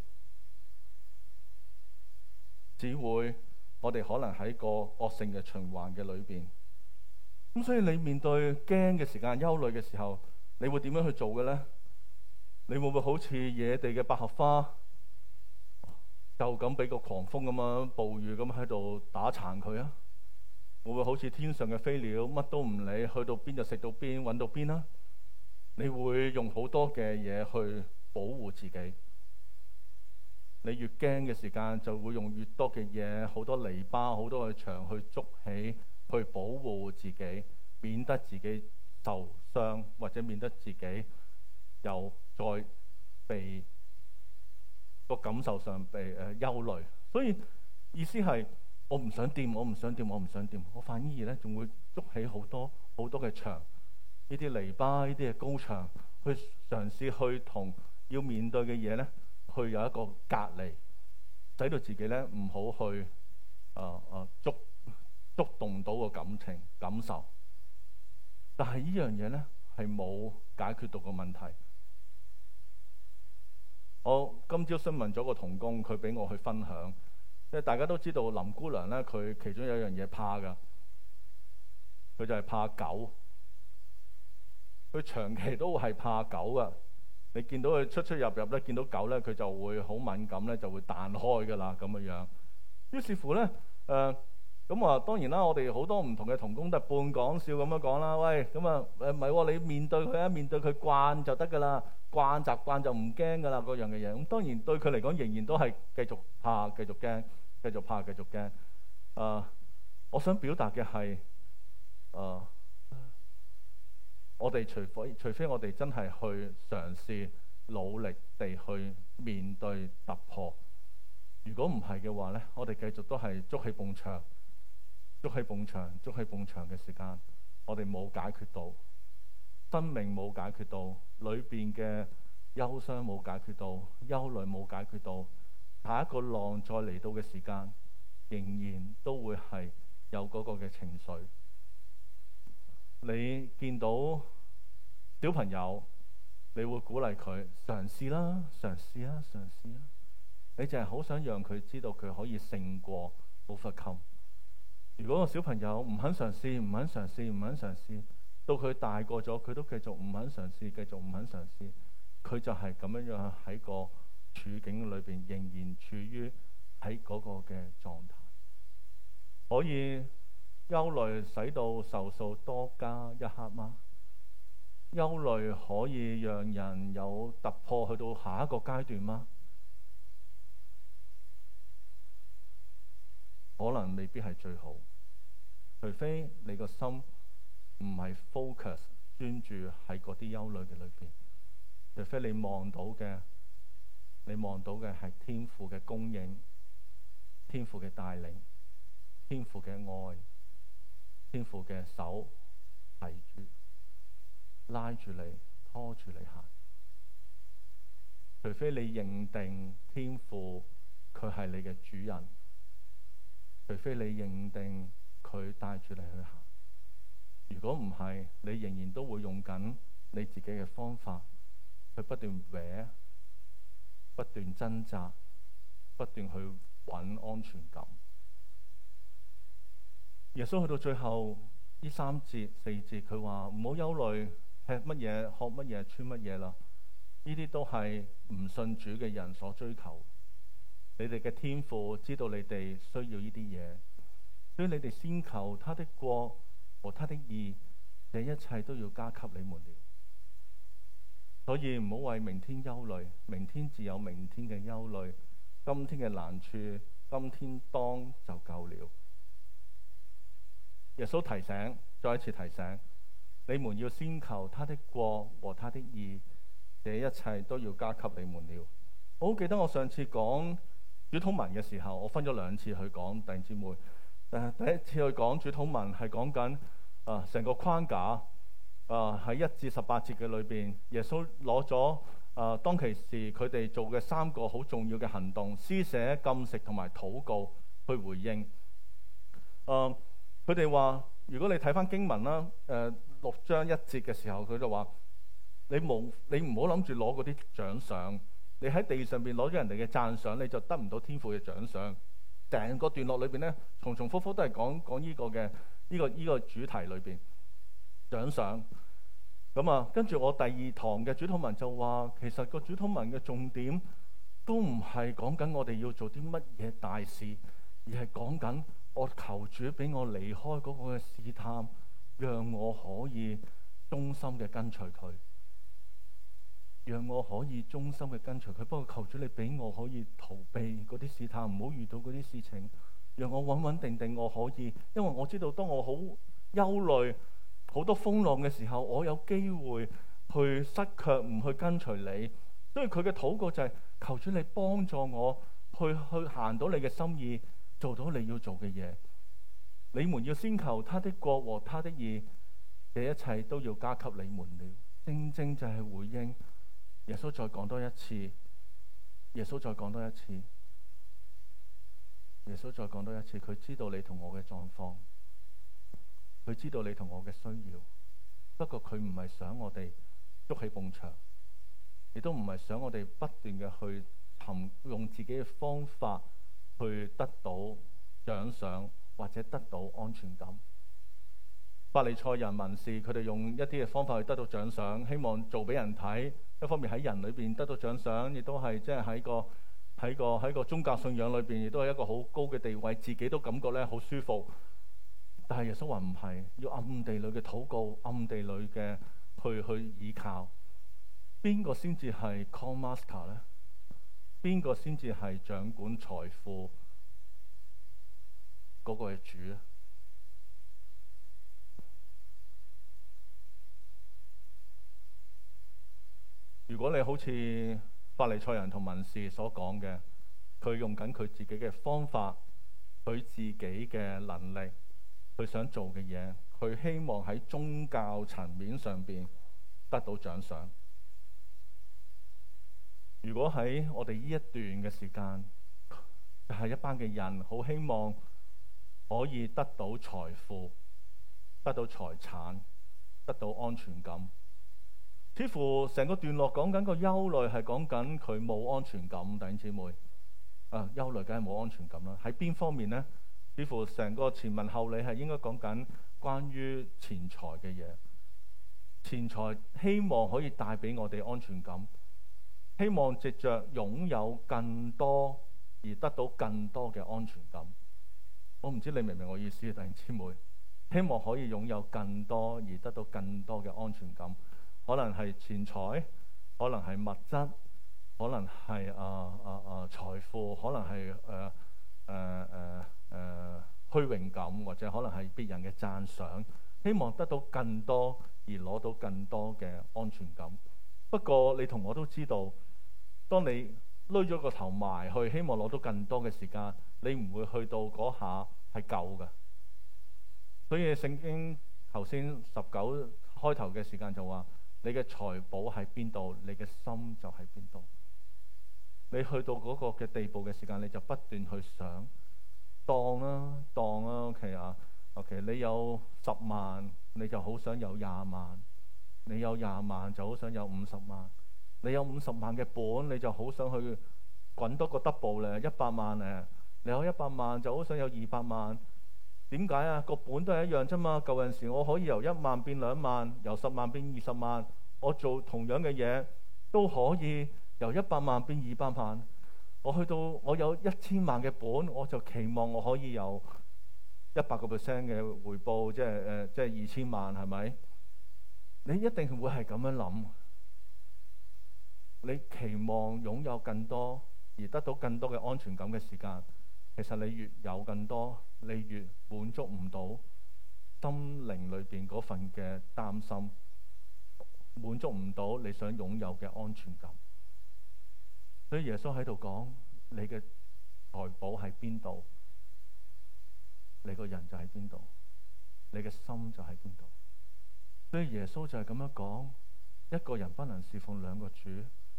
只會我哋可能喺個惡性嘅循環嘅裏邊。咁所以你面對驚嘅時間、憂慮嘅時候，你會點樣去做嘅咧？你會唔會好似野地嘅百合花，就咁俾個狂風咁樣暴雨咁喺度打殘佢啊？會唔會好似天上嘅飛鳥，乜都唔理，去到邊就食到邊，揾到邊啊？你會用好多嘅嘢去保護自己。你越驚嘅時間，就會用越多嘅嘢，好多籬笆、好多嘅牆去築起，去保護自己，免得自己受傷，或者免得自己又再被個感受上被誒、呃、憂慮。所以意思係，我唔想掂，我唔想掂，我唔想掂。我反而咧仲會築起好多好多嘅牆，呢啲籬笆，呢啲嘅高牆，去嘗試去同要面對嘅嘢咧，去有一個隔離，使到自己咧唔好去啊啊觸觸動到個感情感受。但係呢樣嘢咧係冇解決到個問題。 我今朝詢問咗個同工，佢俾我去分享，即係大家都知道林姑娘咧，佢其中有一樣嘢怕㗎，佢就係怕狗。佢長期都係怕狗㗎。你見到佢出出入入咧，見到狗咧，佢就會好敏感咧，就會彈開㗎啦咁樣樣。於是乎咧，誒咁啊，當然啦，我哋好多唔同嘅同工都係半講笑咁樣講啦。喂，咁啊誒唔係喎，你面對佢啊，面對佢慣就得㗎啦，慣習慣就唔驚㗎啦，嗰樣嘅嘢。咁當然對佢嚟講，仍然都係繼續怕、繼續驚、繼續怕、繼續驚。誒、呃，我想表達嘅係誒。呃我哋除非除非我哋真係去嘗試努力地去面對突破，如果唔係嘅話咧，我哋繼續都係捉起埲牆、捉起埲牆、捉起埲牆嘅時間，我哋冇解決到生命，冇解決到裏邊嘅憂傷，冇解決到憂慮，冇解決到下一個浪再嚟到嘅時間，仍然都會係有嗰個嘅情緒。你見到小朋友，你會鼓勵佢嘗試啦，嘗試啦，嘗試啦。你就係好想讓佢知道佢可以勝過 overcome。如果個小朋友唔肯嘗試，唔肯嘗試，唔肯嘗試，到佢大個咗，佢都繼續唔肯嘗試，繼續唔肯嘗試，佢就係咁樣樣喺個處境裏邊，仍然處於喺嗰個嘅狀態。可以憂慮使到壽數多加一刻嗎？憂慮可以讓人有突破去到下一個階段嗎？可能未必係最好，除非你個心唔係 focus 專注喺嗰啲憂慮嘅裏邊，除非你望到嘅，你望到嘅係天父嘅供應、天父嘅帶領、天父嘅愛、天父嘅手提住、拉住你、拖住你行。除非你認定天父佢係你嘅主人，除非你認定佢帶住你去行。如果唔係，你仍然都會用緊你自己嘅方法去不斷搲、不斷掙扎、不斷去揾安全感。耶穌去到最後呢三節四節，佢話唔好憂慮，吃乜嘢、喝乜嘢、穿乜嘢啦。呢啲都係唔信主嘅人所追求。你哋嘅天父知道你哋需要呢啲嘢，所以你哋先求他的國和他的義，這一切都要加給你們了。所以唔好為明天憂慮，明天自有明天嘅憂慮，今天嘅難處，今天當就夠了。耶穌提醒，再一次提醒，你們要先求他的國和他的義，這一切都要加給你們了。我好記得我上次講主禱文嘅時候，我分咗兩次去講弟兄姊妹。誒，第一次去講主禱文係講緊啊成個框架啊，喺一至十八節嘅裏邊，耶穌攞咗啊當其時佢哋做嘅三個好重要嘅行動：施捨、禁食同埋禱告去回應。誒，佢哋話：如果你睇翻經文啦，誒六章一節嘅時候，佢就話：你冇你唔好諗住攞嗰啲獎賞。你喺地上邊攞咗人哋嘅讚賞，你就得唔到天父嘅獎賞。成個段落裏邊咧，重重複複都係講講呢個嘅呢個呢個主題裏邊獎賞。咁啊，跟住我第二堂嘅主禱文就話，其實個主禱文嘅重點都唔係講緊我哋要做啲乜嘢大事，而係講緊我求主俾我離開嗰個嘅試探，讓我可以忠心嘅跟隨佢。讓我可以忠心嘅跟隨佢，不過求主你俾我可以逃避嗰啲試探，唔好遇到嗰啲事情，讓我穩穩定定我可以，因為我知道當我好憂慮、好多風浪嘅時候，我有機會去失卻唔去跟隨你。所以佢嘅禱告就係、是、求主你幫助我去去行到你嘅心意，做到你要做嘅嘢。你們要先求他的國和他的義，這一切都要加給你們了。正正就係回應。耶穌再講多一次，耶穌再講多一次，耶穌再講多一次。佢知道你同我嘅狀況，佢知道你同我嘅需要。不過佢唔係想我哋捉起埲牆， 亦都唔係想我哋不斷嘅去尋用自己嘅方法去得到獎賞或者得到安全感。法利賽人、文士，佢哋用一啲嘅方法去得到獎賞，希望做俾人睇。一方面喺人裏邊得到獎賞，亦都係即係喺個喺個喺個宗教信仰裏邊，亦都係一個好高嘅地位，自己都感覺咧好舒服。但係耶穌話唔係，要暗地裏嘅禱告，暗地裏嘅去去倚靠。邊個先至係 call master 咧？邊個先至係掌管財富嗰個嘅主咧？如果你好似法利賽人同文士所講嘅，佢用緊佢自己嘅方法，佢自己嘅能力，佢想做嘅嘢，佢希望喺宗教層面上邊得到獎賞。如果喺我哋呢一段嘅時間，係一班嘅人好希望可以得到財富、得到財產、得到安全感，似乎成個段落講緊個憂慮係講緊佢冇安全感。弟兄姊妹，啊，憂慮梗係冇安全感啦。喺邊方面呢？似乎成個前文後理係應該講緊關於錢財嘅嘢。錢財希望可以帶俾我哋安全感。希望藉着擁有更多而得到更多嘅安全感。我唔知你明唔明我意思，弟兄姊妹？希望可以擁有更多而得到更多嘅安全感，可能係錢財，可能係物質，可能係啊啊啊財富，可能係誒誒誒誒虛榮感，或者可能係別人嘅讚賞。希望得到更多而攞到更多嘅安全感。不過你同我都知道，當你攏咗個頭埋去，希望攞到更多嘅時間，你唔會去到嗰下係夠嘅。所以聖經頭先十九開頭嘅時間就話：你嘅財寶喺邊度，你嘅心就喺邊度。你去到嗰個嘅地步嘅時間，你就不斷去想，當啦當啦 OK 啊 OK， 你有十萬，你就好想有廿萬。你有廿萬就好想有五十萬，你有五十萬嘅本，你就好想去滾多個 double 咧，一百萬咧。你有一百萬就好想有二百萬。點解啊？個本都係一樣啫嘛。舊陣時我可以由一萬變兩萬，由十萬變二十萬，我做同樣嘅嘢都可以由一百萬變二百萬。我去到我有一千萬嘅本，我就期望我可以有一百個 percent 嘅回報，即係誒、呃，即係二千萬，係咪？你一定會係咁樣諗，你期望擁有更多而得到更多嘅安全感嘅時間，其實你越有更多，你越滿足唔到心靈裏邊嗰份嘅擔心，滿足唔到你想擁有嘅安全感。所以耶穌喺度講：你嘅財寶喺邊度，你個人就喺邊度，你嘅心就喺邊度。所以耶穌就係咁樣講，一個人不能侍奉兩個主。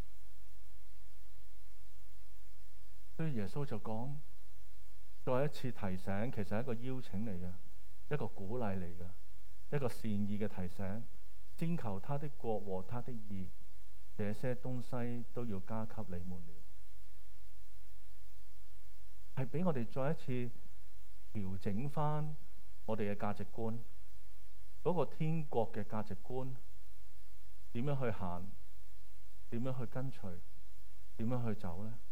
所以耶穌就講，再一次提醒，其實係一個邀請嚟嘅，一個鼓勵嚟嘅，一個善意嘅提醒。先求他的國和他的義，這些東西都要加給你們了。係俾我哋再一次調整翻我哋嘅價值觀。嗰個天國嘅價值觀點樣去行？點樣去跟隨？點樣去走呢？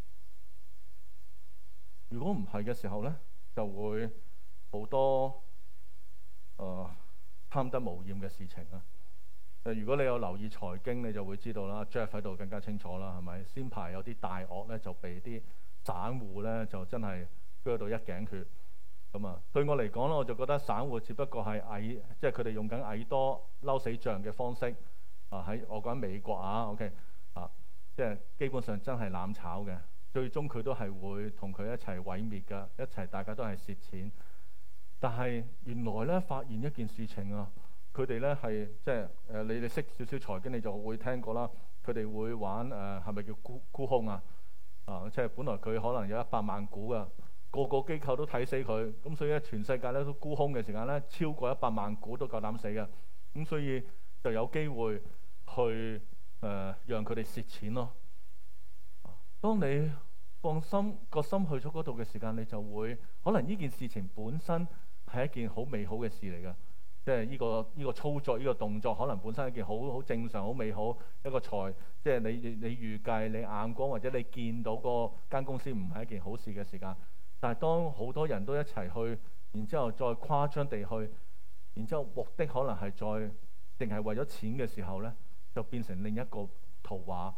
如果唔係嘅時候呢，就會好多誒、呃、貪得無厭嘅事情啊！誒，如果你有留意財經，你就會知道啦。Jeff 喺度更加清楚啦，係咪？先排有啲大鱷咧，就被啲散戶咧就真係鋸到一頸血。咁啊，對我嚟講咧，我就覺得散戶只不過係蟻，即係佢哋用緊蟻多嬲死象嘅方式啊！喺我講美國啊 ，OK 啊，即係基本上真係攬炒嘅，最終佢都係會同佢一齊毀滅㗎，一齊大家都係蝕錢。但係原來咧，發現一件事情啊，佢哋咧係即係誒，你哋識少少財經，你就會聽過啦。佢哋會玩誒，係咪叫沽沽空啊？啊，即係本來佢可能有一百萬股㗎。個個機構都睇死佢，咁所以咧全世界咧都沽空嘅時間咧，超過一百萬股都夠膽死嘅，咁所以就有機會去呃、讓佢哋蝕錢咯。當你放心個心去咗嗰度嘅時間，你就會可能呢件事情本身係一件好美好嘅事嚟㗎。即係呢個呢個操作呢個動作，可能本身係一件好好正常、好美好一個財。即係你你預計你眼光或者你見到個間公司唔係一件好事嘅時間，但係當好多人都一齊去，然之後再誇張地去，然之後目的可能係再淨係為咗錢嘅時候咧，就變成另一個圖畫。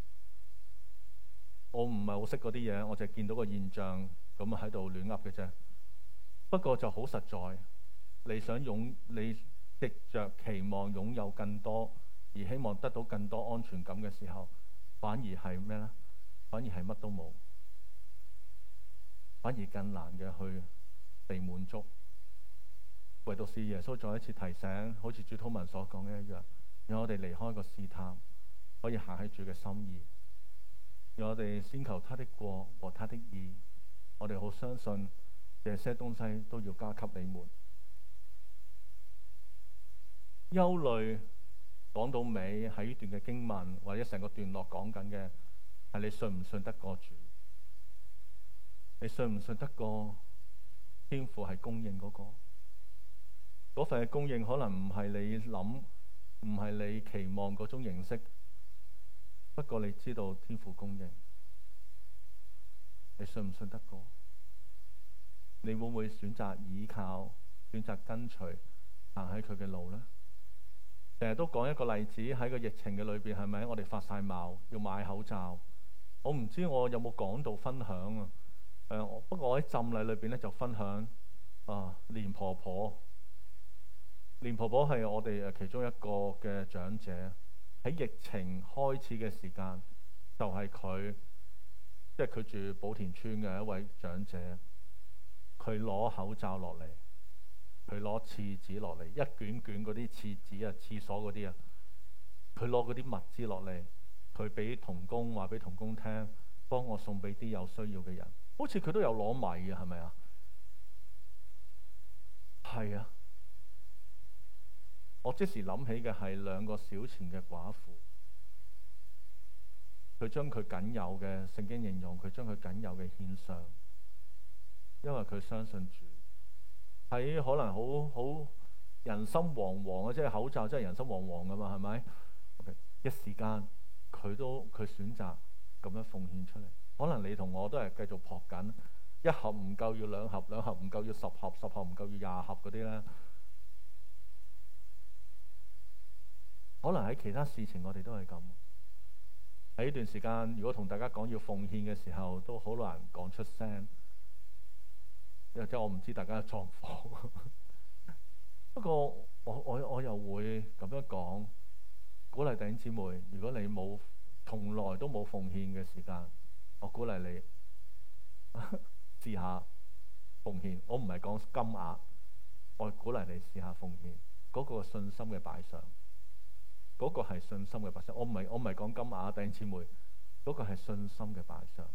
我唔係好識嗰啲嘢，我就係見到個現象咁喺度亂噏嘅啫。不過就好實在。你想擁你藉着期望擁有更多，而希望得到更多安全感嘅時候，反而係咩咧？反而係乜都冇，反而更難嘅去被滿足。唯獨是耶穌再一次提醒，好似主禱文所講嘅一樣，讓我哋離開個試探，可以行喺主嘅心意。讓我哋先求他的國和他的義。我哋好相信這些東西都要加給你們。憂慮講到尾喺呢段嘅經文或者成個段落講緊嘅係你信唔信得過主？你信唔信得過天父係供應嗰個？嗰份嘅供應可能唔係你諗，唔係你期望嗰種形式。不過你知道天父供應，你信唔信得過？你會唔會選擇倚靠、選擇跟隨行喺佢嘅路呢？成日都講一個例子，喺個疫情嘅裏邊，係咪我哋發晒矛要買口罩？我唔知我有冇講到分享啊？誒、呃，不過我喺浸禮裏邊咧就分享啊，蓮婆婆。蓮婆婆係我哋誒其中一個嘅長者，喺疫情開始嘅時間，就係佢，即係佢住寶田村嘅一位長者，佢攞口罩落嚟。佢攞廁紙落嚟，一卷卷嗰啲廁紙啊，廁所嗰啲啊，佢攞嗰啲物資落嚟，佢俾同工話俾同工聽，幫我送俾啲有需要嘅人。好似佢都有攞米啊，係咪啊？係啊！我即時諗起嘅係兩個小錢嘅寡婦，佢將佢僅有嘅，聖經形容佢將佢僅有嘅獻上，因為佢相信主。喺可能好好人心惶惶啊，即係口罩真係人心惶惶噶嘛，係咪？Okay. 一時間佢都佢選擇咁樣奉獻出嚟，可能你同我都係繼續撲緊，一盒唔夠要兩盒，兩盒唔夠要十盒，十盒唔夠要廿盒嗰啲咧。可能喺其他事情我哋都係咁。喺呢段時間，如果同大家講要奉獻嘅時候，都好難講出聲。即係我唔知大家嘅狀況，不過我我我又會咁樣講，鼓勵弟兄姊妹，如果你冇從來都冇奉獻嘅時間，我鼓勵你試下奉獻。我唔係講金額，我鼓勵你試下奉獻嗰個信心嘅擺上，嗰個係信心嘅擺上。我唔係我唔係講金額，弟兄姊妹，嗰個係信心嘅擺上。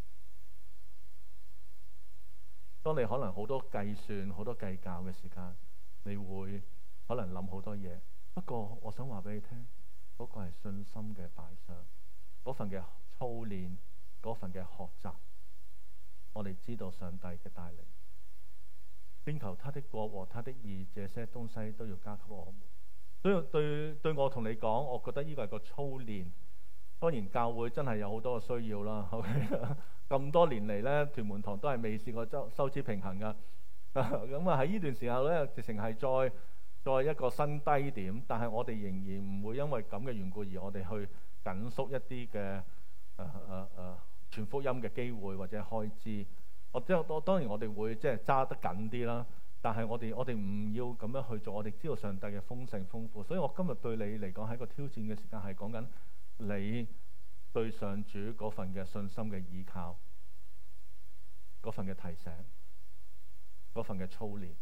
當你可能好多計算、好多計較嘅時間，你會可能諗好多嘢。不過我想話俾你聽，嗰個係信心嘅擺上，嗰份嘅操練，嗰份嘅學習。我哋知道上帝嘅帶領，先求他的國和他的義，這些東西都要加給我們。所以對對我同你講，我覺得呢個係個操練。當然教會真係有好多嘅需要啦。咁多年嚟咧，屯門堂都係未試過收收支平衡噶。咁啊喺呢段時候咧，直情係再再一個新低點。但係我哋仍然唔會因為咁嘅緣故而我哋去緊縮一啲嘅誒誒誒傳福音嘅機會或者開支。我即係當然我哋會即係揸得緊啲啦。但係我哋我哋唔要咁樣去做。我哋知道上帝嘅豐盛豐富。所以我今日對你嚟講係一個挑戰嘅時間，係講緊你對上主嗰份嘅信心嘅依靠，嗰份嘅提醒，嗰份嘅操練。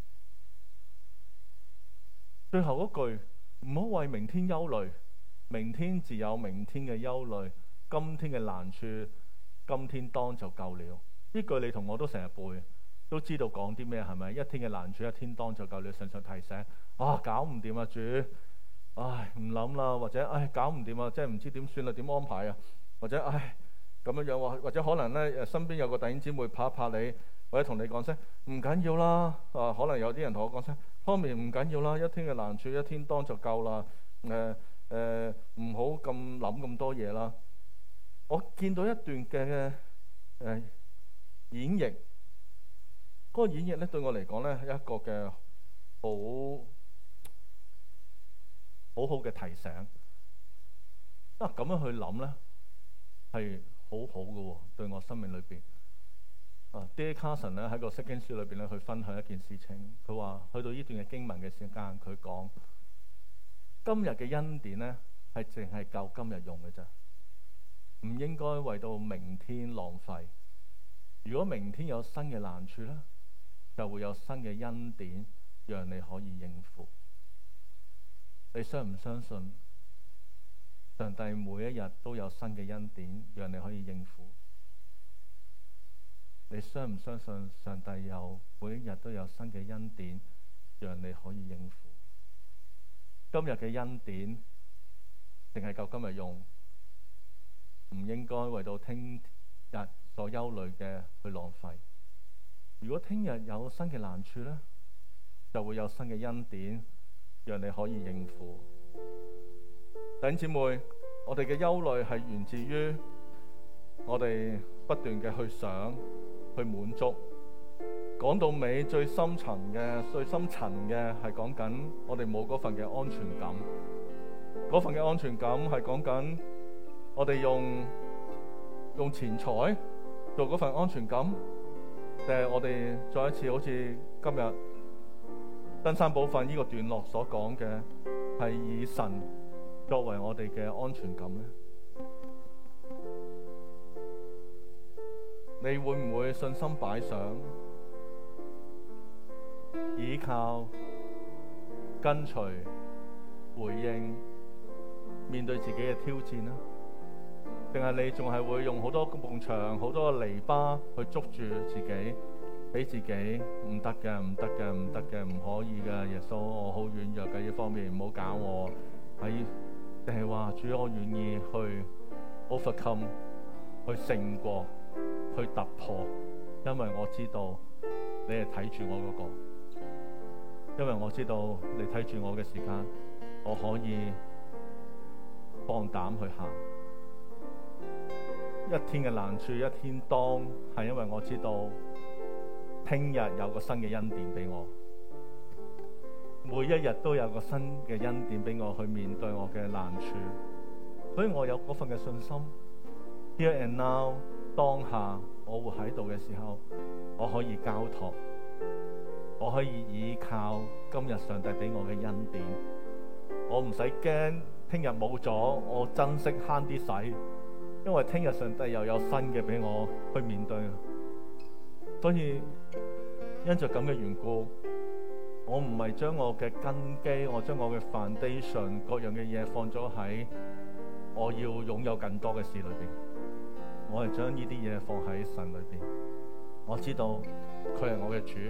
最後嗰句，唔好為明天憂慮，明天自有明天嘅憂慮，今天嘅難處，今天當就夠了。呢句你同我都成日背，都知道講啲咩，係咪？一天嘅難處，一天當就夠了。常常提醒，啊，搞唔掂啊主， 唉唔諗啦，或者唉搞唔掂啊，即係唔知點算啦，點安排啊，或者唉咁樣樣喎，或者可能咧誒身邊有個弟兄姊妹拍一拍你，或者同你講聲唔緊要啦。啊，可能有啲人同我講聲，Tommy唔緊要啦，一天嘅難處一天當就夠啦。誒誒唔好咁諗咁多嘢啦。我見到一段嘅誒、呃、演繹，嗰、那個演繹咧對我嚟講咧係一個嘅好好好嘅提醒。啊，咁樣去諗咧係好好嘅喎，對我生命裏邊。啊 D A Carson 咧喺個釋經書裏邊咧去分享一件事情，佢話去到呢段嘅經文嘅時間，佢講今日嘅恩典咧係淨係夠今日用嘅咋，唔應該為到明天浪費。如果明天有新嘅難處咧，就會有新嘅恩典讓你可以應付。你相唔相信上帝每一日都有新嘅恩典讓你可以應付？你相唔相信上帝有每一日都有新嘅恩典讓你可以應付？今日嘅恩典淨係夠今日用，唔應該為到聽日所憂慮嘅去浪費。如果聽日有新嘅難處呢，就會有新嘅恩典讓你可以應付。弟兄姊妹，我哋嘅憂慮係源自於我哋不斷嘅去想去滿足。講到尾最深層嘅最深層嘅係講緊我哋冇嗰份嘅安全感。嗰份嘅安全感係講緊我哋用用錢財做嗰份安全感，定係我哋再一次好似今日登山寶訓呢個段落所講嘅，係以神作為我哋嘅安全感呢？你會唔會信心擺上，倚靠、跟隨、回應，面對自己嘅挑戰呢？定係你仲係會用好多埲牆、好多個籬笆去捉住自己，俾自己唔得嘅、唔得嘅、唔得嘅、唔可以嘅？耶穌，我好軟弱嘅呢方面，唔好搞我。喺定係話主，我願意去 overcome， 去勝過，去突破，因為我知道你係睇住我嗰個，因為我知道你睇住我嘅時間，我可以放膽去行。一天嘅難處一天當，係因為我知道聽日有個新嘅恩典俾我，每一日都有個新嘅恩典俾我去面對我嘅難處，所以我有嗰份嘅信心。Here and now， 當下我活喺度嘅時候，我可以交託，我可以依靠今日上帝俾我嘅恩典，我唔使驚聽日冇咗，我珍惜慳啲使，因為聽日上帝又有新嘅俾我去面對。所以因着咁嘅緣故，我唔係將我嘅根基，我將我嘅 foundation 各樣嘅嘢放咗喺我要擁有更多嘅事裏邊，我係將呢啲嘢放喺神裏邊。我知道佢係我嘅主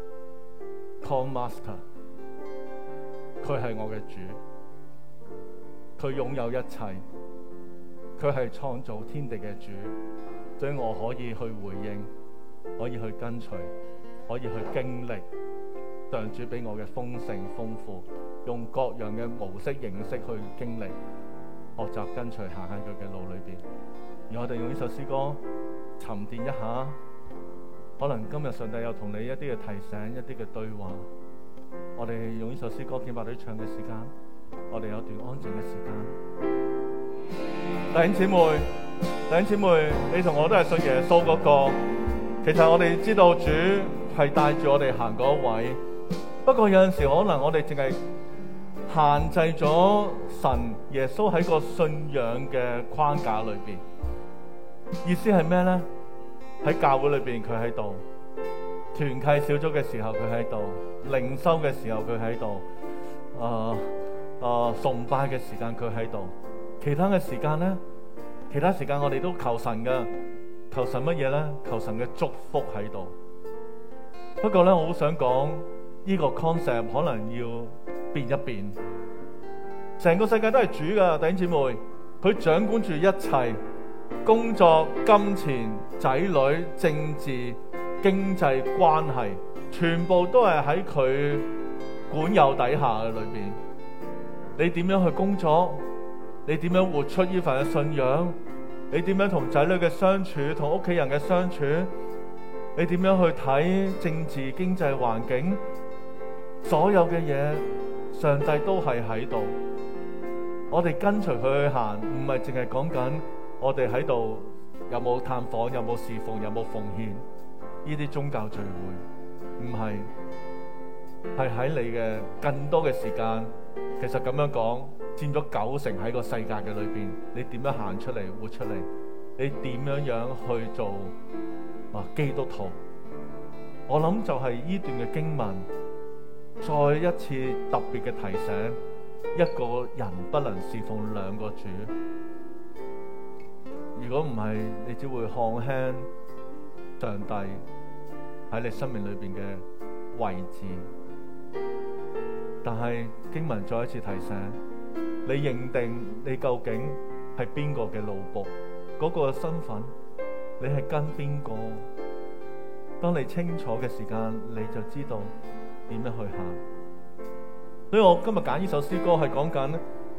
，Call Master， 佢係我嘅主，佢擁有一切，佢係創造天地嘅主，所以我可以去回應，可以去跟隨，可以去經歷上主俾我嘅豐盛豐富，用各樣嘅模式形式去經歷，學習跟隨行喺佢嘅路裏邊。而我哋用呢首詩歌沉澱一下，可能今日上帝有同你一啲嘅提醒，一啲嘅對話。我哋用呢首詩歌敬拜隊唱嘅時間，我哋有段安靜嘅時間。弟兄姊妹，弟兄姊妹，你同我都係信耶穌嗰個。其實我哋知道主係帶住我哋行嗰位，不過有陣時可能我哋淨係限制咗神耶穌喺個信仰嘅框架裏邊。意思係咩咧？喺教會裏邊佢喺度，團契小組嘅時候佢喺度，靈修嘅時候佢喺度，啊、呃、啊崇拜嘅時間佢喺度，其他嘅時間咧，其他時間我哋都求神嘅。求神乜嘢咧？求神嘅祝福喺度。不過咧，我好想講呢個 concept 可能要變一變。 成個世界都係主噶，弟兄姊妹，佢掌管住一切，工作、金錢、仔女、政治、經濟關係，全部都係喺佢管有底下嘅裏邊。你點樣去工作？你點樣活出呢份嘅信仰？你點樣同仔女嘅相處，同屋企人嘅相處？你點樣去睇政治經濟環境？所有嘅嘢，上帝都係喺度。我哋跟隨佢去行，唔係淨係講緊我哋喺度有冇探訪，有冇侍奉，有冇奉獻呢啲宗教聚會，唔係，係喺你嘅更多嘅時間。其實咁樣講，佔咗九成喺個世界嘅裏邊，你點樣行出嚟，活出嚟？你點樣樣去做啊基督徒？我諗就係呢段嘅經文，再一次特別嘅提醒，一個人不能侍奉兩個主。如果唔係，你只會看輕上帝喺你生命裏邊嘅位置。但係經文再一次提醒你，認定你究竟係邊個嘅奴僕，嗰個身份，你係跟邊個？當你清楚嘅時間，你就知道點樣去行。所以我今日揀呢首詩歌係講緊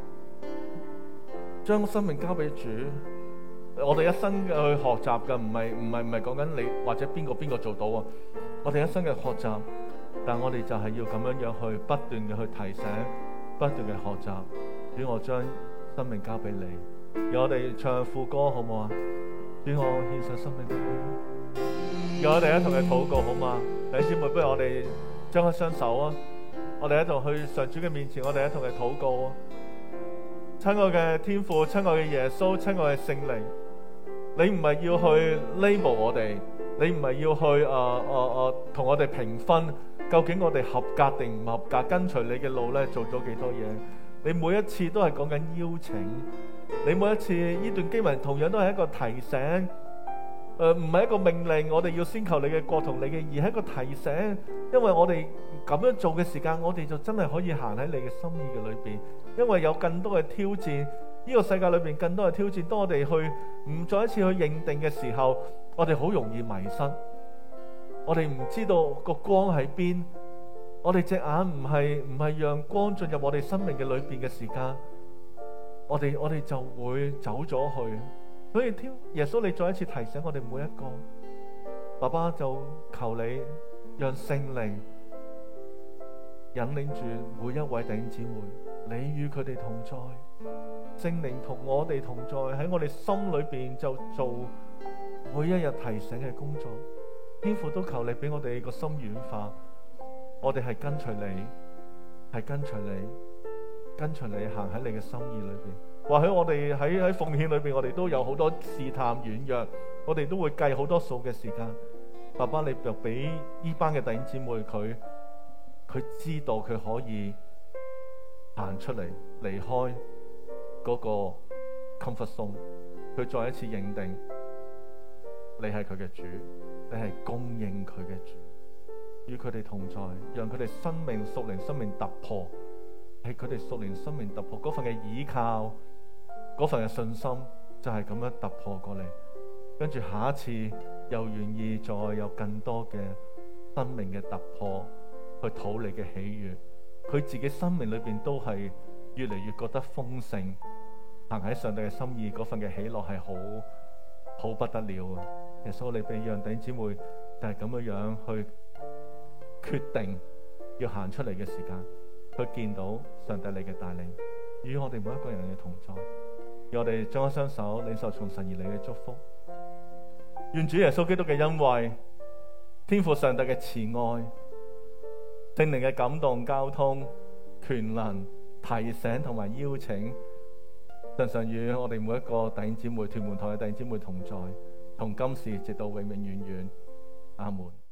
將生命交俾主。我哋一生嘅去學習嘅，唔係唔係唔係講緊你或者邊個邊個做到啊！我哋一生嘅學習。但我哋就係要咁樣樣去不斷嘅去提醒，不斷嘅學習。主，我將生命交俾你。讓我哋唱副歌好唔好啊？主，我獻上生命俾你。讓我哋一同嘅禱告好嘛？弟兄姊妹，不如我哋張開雙手啊！我哋一同去上主嘅面前，我哋一同嘅禱告啊！親愛嘅天父，親愛嘅耶穌，親愛嘅聖靈，你唔係要去 label 我哋，你唔係要去誒誒誒同我哋評分。究竟我哋合格定唔合格？跟隨你嘅路咧，做咗幾多嘢？你每一次都係講緊邀請，你每一次呢段經文同樣都係一個提醒，誒唔係一個命令，我哋要先求你嘅國同你嘅義，係一個提醒。因為我哋咁樣做嘅時間，我哋就真係可以行喺你嘅心意嘅裏邊。因為有更多嘅挑戰，呢個世界裏邊更多嘅挑戰。當我哋去唔再一次去認定嘅時候，我哋好容易迷失。我哋唔知道個光喺邊，我哋隻眼唔係唔係讓光進入我哋生命嘅裏邊嘅時間，我哋我哋就會走咗去。所以天耶穌，你再一次提醒我哋每一個，爸爸就求你讓聖靈引領住每一位弟兄姊妹，你與佢哋同在，聖靈同我哋同在，喺我哋心裏邊就做每一日提醒嘅工作。天父都求你俾我哋個心軟化，我哋係跟隨你，係跟隨你，跟隨你行喺你嘅心意裏邊。或許我哋喺喺奉獻裏邊，我哋都有好多試探軟弱，我哋都會計好多數嘅時間。爸爸，你就俾呢班嘅弟兄姊妹，佢佢知道佢可以行出嚟，離開嗰個 comfort zone，佢再一次認定你係佢嘅主。你係供應佢嘅主，與佢哋同在，讓佢哋生命屬靈生命突破，係佢哋屬靈生命突破嗰份嘅倚靠，嗰份嘅信心就係咁樣突破過嚟。跟住下一次又願意再有更多嘅生命嘅突破，去討你嘅喜悅。佢自己生命裏邊都係越嚟越覺得豐盛，行喺上帝嘅心意嗰份嘅喜樂係好好不得了啊！耶穌，你俾讓弟兄姊妹就係咁樣樣去決定要行出嚟嘅時間，去見到上帝你嘅帶領，與我哋每一個人嘅同在，讓我哋將一雙手領受從神而嚟嘅祝福。願主耶穌基督嘅恩惠、天父上帝嘅慈愛、聖靈嘅感動、交通、權能、提醒同埋邀請，常常與我哋每一個弟兄姊妹、屯門堂嘅弟兄姊妹同在。從今時直到永永遠遠，阿門。